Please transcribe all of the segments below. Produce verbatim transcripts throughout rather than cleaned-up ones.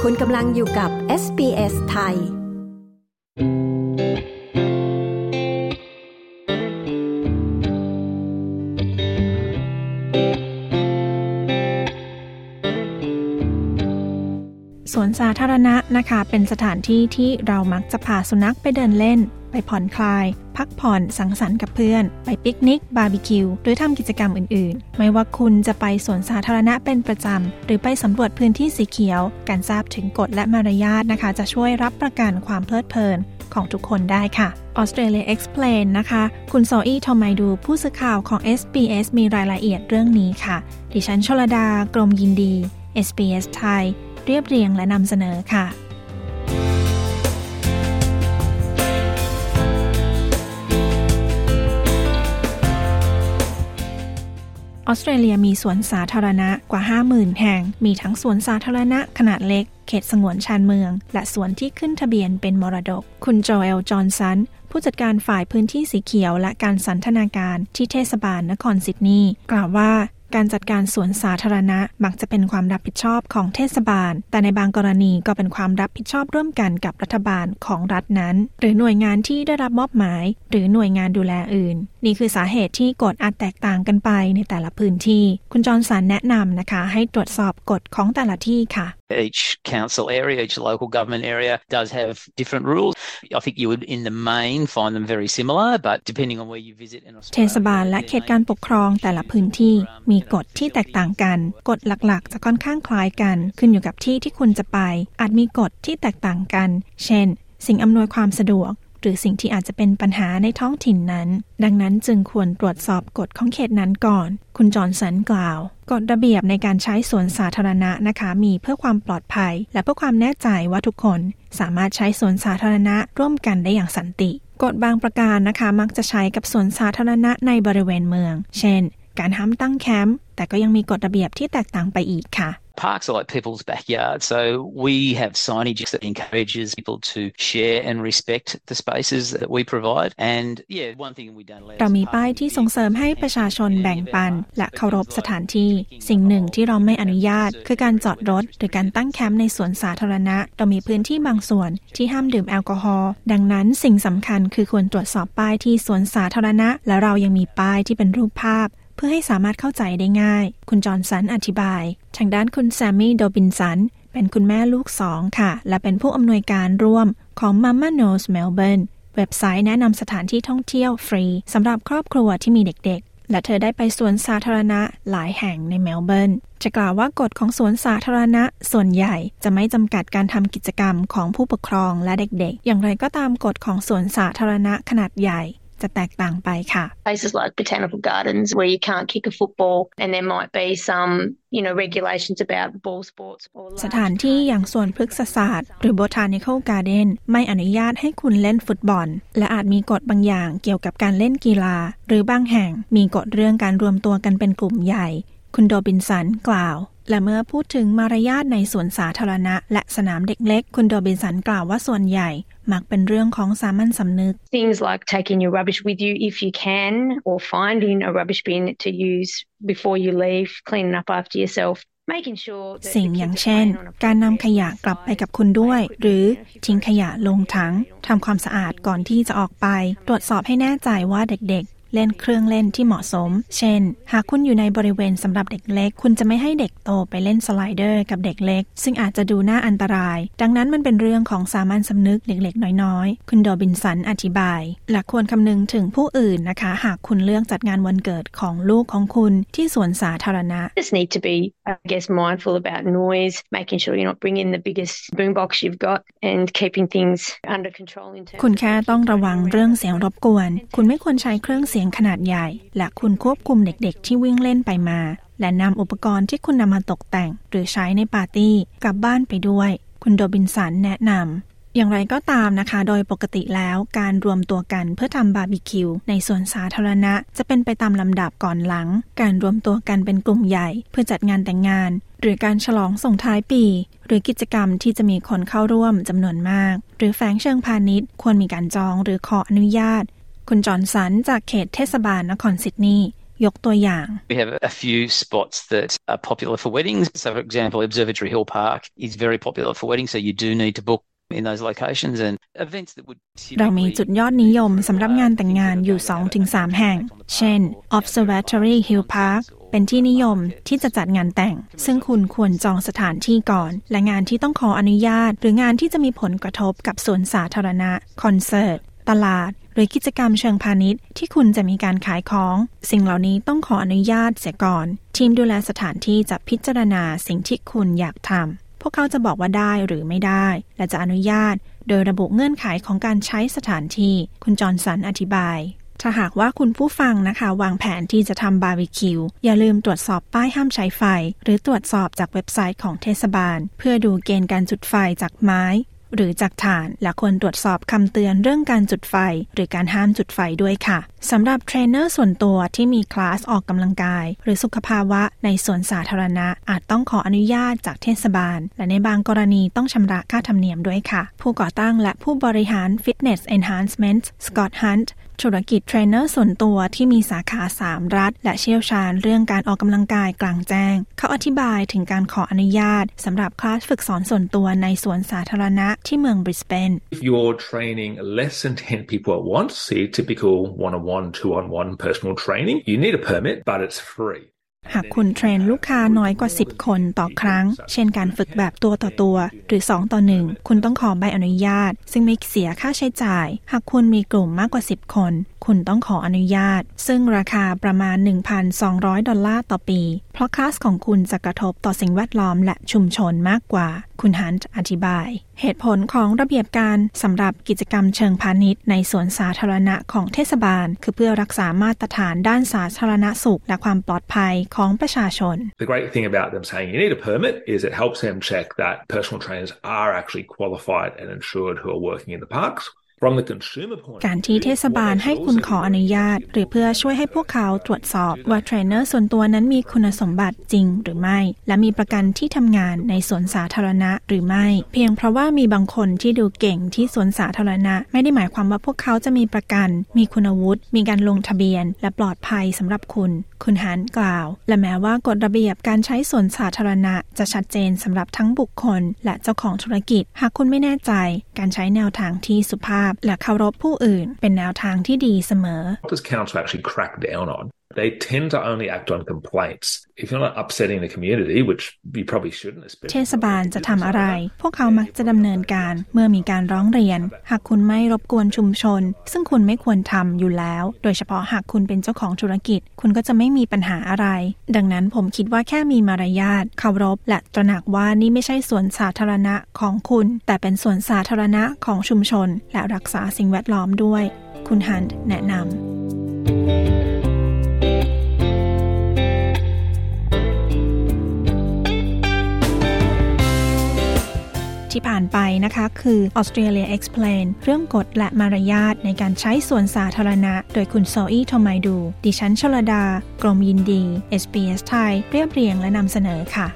คุณกำลังอยู่กับ เอส บี เอส ไทยสวนสาธารณะนะคะเป็นสถานที่ที่เรามักจะพาสุนัขไปเดินเล่นไปผ่อนคลายพักผ่อนสังสรรค์กับเพื่อนไปปิกนิกบาร์บีคิวหรือทำกิจกรรมอื่นๆไม่ว่าคุณจะไปสวนสาธารณะเป็นประจำหรือไปสำรวจพื้นที่สีเขียวการทราบถึงกฎและมารยาทนะคะจะช่วยรับประกันความเพลิดเพลินของทุกคนได้ค่ะ Australia Explain นะคะคุณโซอี้ทอมไมดูผู้สื่อข่าวของ เอส บี เอส มีรายละเอียดเรื่องนี้ค่ะดิฉันชลดากรมยินดี เอส บี เอส ไทยเรียบเรียงและนำเสนอค่ะออสเตรเลียมีสวนสาธารณะกว่า ห้าหมื่น แห่งมีทั้งสวนสาธารณะขนาดเล็กเขตสงวนชานเมืองและสวนที่ขึ้นทะเบียนเป็นมรดกคุณโจเอลจอห์นสันผู้จัดการฝ่ายพื้นที่สีเขียวและการสันทนาการที่เทศบาลนครซิดนีย์กล่าวว่าการจัดการสวนสาธารณะมักจะเป็นความรับผิดชอบของเทศบาลแต่ในบางกรณีก็เป็นความรับผิดชอบร่วมกันกับรัฐบาลของรัฐนั้นหรือหน่วยงานที่ได้รับมอบหมายหรือหน่วยงานดูแลอื่นนี่คือสาเหตุที่กฎอาจแตกต่างกันไปในแต่ละพื้นที่คุณจอห์นสันแนะนำนะคะให้ตรวจสอบกฎของแต่ละที่ค่ะ Each council area, each local government area does have different rules. I think you would, in the main, find them very similar, but depending on where you visit in Australia. เทศบาลและเขตการปกครองแต่ละพื้นที่มีกฎที่แตกต่างกันกฎหลักๆจะค่อนข้างคล้ายกันขึ้นอยู่กับที่ที่คุณจะไปอาจมีกฎที่แตกต่างกันเช่นสิ่งอำนวยความสะดวกหรือสิ่งที่อาจจะเป็นปัญหาในท้องถิ่นนั้นดังนั้นจึงควรตรวจสอบกฎของเขตนั้นก่อนคุณจอห์นสันกล่าวกฎระเบียบในการใช้สวนสาธารณะนะคะมีเพื่อความปลอดภัยและเพื่อความแน่ใจว่าทุกคนสามารถใช้สวนสาธารณะร่วมกันได้อย่างสันติกฎบางประการนะคะมักจะใช้กับสวนสาธารณะในบริเวณเมืองเช่นการห้ามตั้งแคมป์แต่ก็ยังมีกฎระเบียบที่แตกต่างไปอีกค่ะ Parks are like people's backyard, so we have signage that encourages people to share and respect the spaces that we provide. And yeah, one thing we don't allow. เรามีป้ายที่ส่งเสริมให้ประชาชนแบ่งปันและเคารพสถานที่สิ่งหนึ่งที่เราไม่อนุญาตคือการจอดรถหรือการตั้งแคมป์ในสวนสาธารณะเรามีพื้นที่บางส่วนที่ห้ามดื่มแอลกอฮอล์ดังนั้นสิ่งสำคัญคือควรตรวจสอบป้ายที่สวนสาธารณะและเรายังมีป้ายที่เป็นรูปภาพเพื่อให้สามารถเข้าใจได้ง่ายคุณจอห์นสันอธิบายทางด้านคุณแซมมี่โดบินสันเป็นคุณแม่ลูกสองค่ะและเป็นผู้อำนวยการร่วมของ Mama Knows Melbourne เว็บไซต์แนะนำสถานที่ท่องเที่ยวฟรีสำหรับครอบครัวที่มีเด็กๆและเธอได้ไปสวนสาธารณะหลายแห่งในเมลเบิร์นจะกล่าวว่ากฎของสวนสาธารณะส่วนใหญ่จะไม่จำกัดการทำกิจกรรมของผู้ปกครองและเด็กๆอย่างไรก็ตามกฎของสวนสาธารณะขนาดใหญ่จะแตกต่างไปค่ะ Places like botanical gardens where you can't kick a football and there might be some, you know, regulations about ball sports. สถานที่อย่างสวนพฤกษศาสตร์หรือ botanical garden ไม่อนุญาตให้คุณเล่นฟุตบอลและอาจมีกฎบางอย่างเกี่ยวกับการเล่นกีฬาหรือบางแห่งมีกฎเรื่องการรวมตัวกันเป็นกลุ่มใหญ่คุณโดบินสันกล่าวและเมื่อพูดถึงมารยาทในสวนสาธารณะและสนามเด็กเล็กคุณโดบินสันกล่าวว่าส่วนใหญ่มักเป็นเรื่องของสามัญสำนึก Things like taking your rubbish with you if you can or finding a rubbish bin to use before you leave, cleaning up after yourself. สิ่งอย่างเช่นการนำขยะกลับไปกับคุณด้วยหรือทิ้งขยะลงถังทำความสะอาดก่อนที่จะออกไปตรวจสอบให้แน่ใจว่าเด็กๆเล่นเครื่องเล่นที่เหมาะสมเช่นหากคุณอยู่ในบริเวณสำหรับเด็กเล็กคุณจะไม่ให้เด็กโตไปเล่นสไลเดอร์กับเด็กเล็กซึ่งอาจจะดูน่าอันตรายดังนั้นมันเป็นเรื่องของสามัญสำนึกเล็กๆน้อยๆคุณโดบินสันอธิบายและควรคำนึงถึงผู้อื่นนะคะหากคุณเลือกจัดงานวันเกิดของลูกของคุณที่สวนสาธารณะ Just need to be, I guess, mindful about noise, making sure you're not bringing the biggest boombox you've got and keeping things under control in terms คุณแค่ต้องระวังเรื่องเสียงรบกวนคุณไม่ควรใช้เครื่องเสียงขนาดใหญ่และคุณควบคุมเด็กๆที่วิ่งเล่นไปมาและนำอุปกรณ์ที่คุณนำมาตกแต่งหรือใช้ในปาร์ตี้กลับบ้านไปด้วยคุณโดบินสันแนะนำอย่างไรก็ตามนะคะโดยปกติแล้วการรวมตัวกันเพื่อทำบาร์บีคิวในสวนสาธารณะจะเป็นไปตามลำดับก่อนหลังการรวมตัวกันเป็นกลุ่มใหญ่เพื่อจัดงานแต่งงานหรือการฉลองส่งท้ายปีหรือกิจกรรมที่จะมีคนเข้าร่วมจำนวนมากหรือแฝงเชิงพาณิชย์ควรมีการจองหรือขออนุญาตคุณจอห์นสันจากเขตเทศบาลนครซิดนีย์ยกตัวอย่าง We have a few spots that are popular for weddings. So for example, Observatory Hill Park is very popular for weddings, so you do need to book in those locations and events that would เรามีจุดยอดนิยมสำหรับงานแต่งงานอยู่ สองถึงสาม แห่งเช่น Observatory Hill Park เป็นที่นิยมที่จะจัดงานแต่งซึ่งคุณควรจองสถานที่ก่อนและงานที่ต้องขออนุญาตหรืองานที่จะมีผลกระทบกับสวนสาธารณะคอนเสิร์ตตลาดหรือกิจกรรมเชิงพาณิชย์ที่คุณจะมีการขายของสิ่งเหล่านี้ต้องขออนุญาตเสียก่อนทีมดูแลสถานที่จะพิจารณาสิ่งที่คุณอยากทำพวกเขาจะบอกว่าได้หรือไม่ได้และจะอนุญาตโดยระบุเงื่อนไขของการใช้สถานที่คุณจอห์นสันอธิบายถ้าหากว่าคุณผู้ฟังนะคะวางแผนที่จะทำบาร์บีคิวอย่าลืมตรวจสอบป้ายห้ามใช้ไฟหรือตรวจสอบจากเว็บไซต์ของเทศบาลเพื่อดูเกณฑ์การจุดไฟจากไม้หรือจากถ่านและควรตรวจสอบคำเตือนเรื่องการจุดไฟหรือการห้ามจุดไฟด้วยค่ะสำหรับเทรนเนอร์ส่วนตัวที่มีคลาสออกกำลังกายหรือสุขภาวะในสวนสาธารณะอาจต้องขออนุญาตจากเทศบาลและในบางกรณีต้องชำระค่าธรรมเนียมด้วยค่ะผู้ก่อตั้งและผู้บริหาร Fitness Enhancement Scott Huntธุรกิจเทรนเนอร์ส่วนตัวที่มีสาขาสามรัฐและเชี่ยวชาญเรื่องการออกกำลังกายกลางแจ้งเขาอธิบายถึงการขออนุญาตสำหรับคลาสฝึกสอนส่วนตัวในสวนสาธารณะที่เมืองบริสเบน If you're training less than ten people at once, see typical one-on-one, two-on-one personal training, you need a permit, but it's free. หากคุณเทรนลูกค้าน้อยกว่าสิบคนต่อครั้งเช่นการฝึกแบบตัวต่อตัวหรือสองต่อหนึ่งคุณต้องขอใบอนุญาตซึ่งไม่เสียค่าใช้จ่ายหากคุณมีกลุ่มมากกว่าสิบคนคุณต้องขออนุญาตซึ่งราคาประมาณ หนึ่งพันสองร้อย ดอลลาร์ต่อปีเพราะคลาสของคุณจะกระทบต่อสิ่งแวดล้อมและชุมชนมากกว่าคุณฮันต์อธิบายเหตุผลของระเบียบการสำหรับกิจกรรมเชิงพาณิชย์ในสวนสาธารณะของเทศบาลคือเพื่อรักษามาตรฐานด้านสาธารณสุขและความปลอดภัยของประชาชน The great thing about them saying you need a permit is it helps them check that personal trainers are actually qualified and insured who are working in the parks. การที่เทศบาลให้คุณขออนุญาตหรือเพื่อช่วยให้พวกเขาตรวจสอบว่าเทรนเนอร์ส่วนตัวนั้นมีคุณสมบัติจริงหรือไม่และมีประกันที่ทำงานในสวนสาธารณะหรือไม่เพียงเพราะว่ามีบางคนที่ดูเก่งที่สวนสาธารณะไม่ได้หมายความว่าพวกเขาจะมีประกันมีคุณวุฒิมีการลงทะเบียนและปลอดภัยสำหรับคุณคุณฮันกล่าวและแม้ว่ากฎระเบียบการใช้สวนสาธารณะจะชัดเจนสำหรับทั้งบุคคลและเจ้าของธุรกิจหากคุณไม่แน่ใจการใช้แนวทางที่สุภาพและเคารพผู้อื่นเป็นแนวทางที่ดีเสมอ What does council actually crack down on? They tend to only act on complaints. If you're not upsetting the community, which you probably shouldn't, especially เทศบาลจะทำอะไรพวกเขามักจะดำเนินการเมื่อมีการร้องเรียนหากคุณไม่รบกวนชุมชนซึ่งคุณไม่ควรทำอยู่แล้วโดยเฉพาะหากคุณเป็นเจ้าของธุรกิจคุณก็จะไม่มีปัญหาอะไรดังนั้นผมคิดว่าแค่มีมารยาทเคารพและตระหนักว่านี่ไม่ใช่สวนสาธารณะของคุณแต่เป็นสวนสาธารณะของชุมชนและรักษาสิ่งแวดล้อมด้วยคุณฮันต์แนะนำที่ผ่านไปนะคะคือ Australia Explain เรื่องกฎและมารยาทในการใช้สวนสาธารณะโดยคุณโซอี้โทมัยดูดิฉันชลดากรมยินดี เอส บี เอส ไทยเรียบเรียงและนำเสนอค่ะ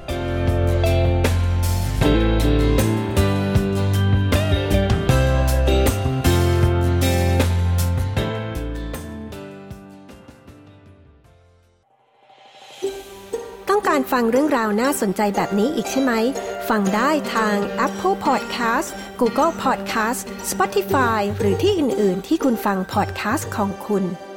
ต้องการฟังเรื่องราวน่าสนใจแบบนี้อีกใช่ไหมฟังได้ทาง Apple Podcast Google Podcast Spotify หรือที่อื่นๆที่คุณฟัง podcast ของคุณ